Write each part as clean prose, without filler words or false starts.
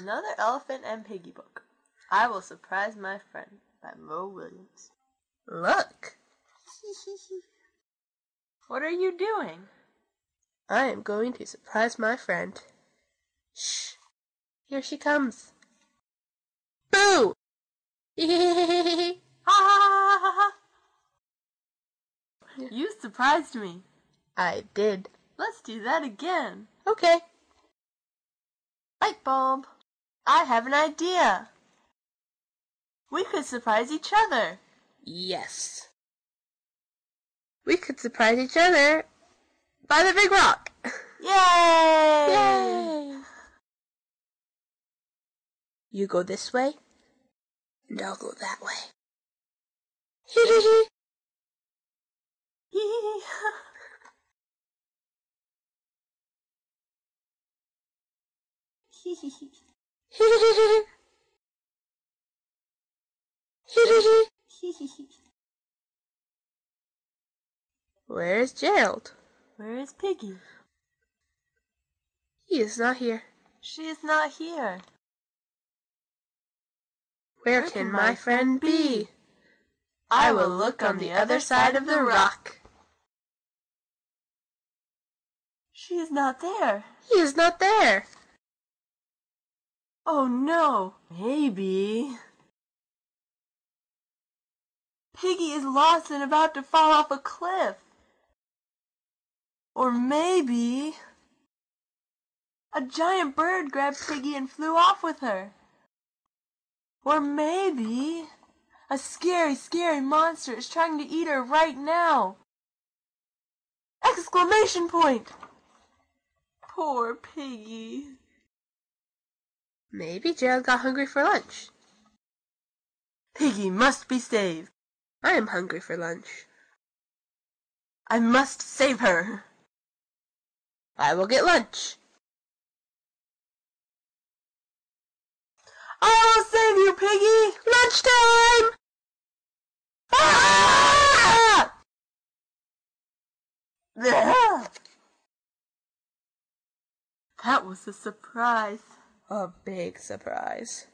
Another Elephant and Piggy book. I Will Surprise My Friend by Mo Williams. Look! What are you doing? I am going to surprise my friend. Shh! Here she comes. Boo! Ha ha ha ha! You surprised me. I did. Let's do that again. Okay. Light bulb. I have an idea. We could surprise each other. Yes. We could surprise each other by the big rock. Yay! Yay! You go this way, and I'll go that way. Hee hee hee. Where is Gerald? Where is Piggy? He is not here. She is not here. Where can my friend be? I will look on the other side of the rock. She is not there. He is not there. Oh no, maybe Piggy is lost and about to fall off a cliff. Or maybe a giant bird grabbed Piggy and flew off with her. Or maybe a scary, scary monster is trying to eat her right now. Exclamation point! Poor Piggy. Maybe Gerald got hungry for lunch. Piggy must be saved. I am hungry for lunch. I must save her. I will get lunch. I will save you, Piggy! Lunchtime! Ah! That was a surprise. A big surprise.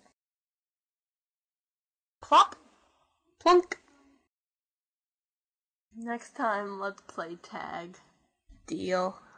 Plop! Plunk! Next time, let's play tag. Deal.